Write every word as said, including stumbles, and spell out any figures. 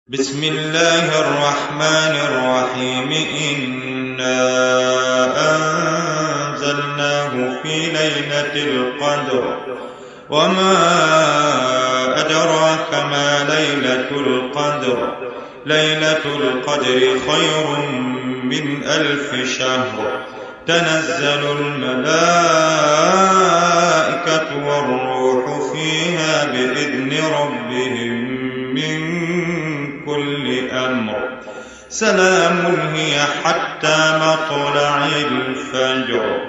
بسم الله الرحمن الرحيم إنا أنزلناه في ليلة القدر وما أدراك ما ليلة القدر ليلة القدر خير من ألف شهر تنزل الملائكة والروح فيها بإذن ربهم من كل أمر سلام هي حتى مطلع الفجر.